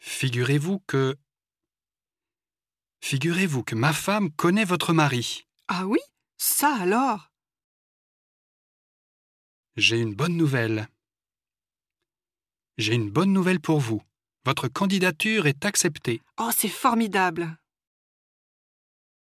Figurez-vous que ma femme connaît votre mari. Ah oui? Ça alors? J'ai une bonne nouvelle. J'ai une bonne nouvelle pour vous. Votre candidature est acceptée. Oh, c'est formidable!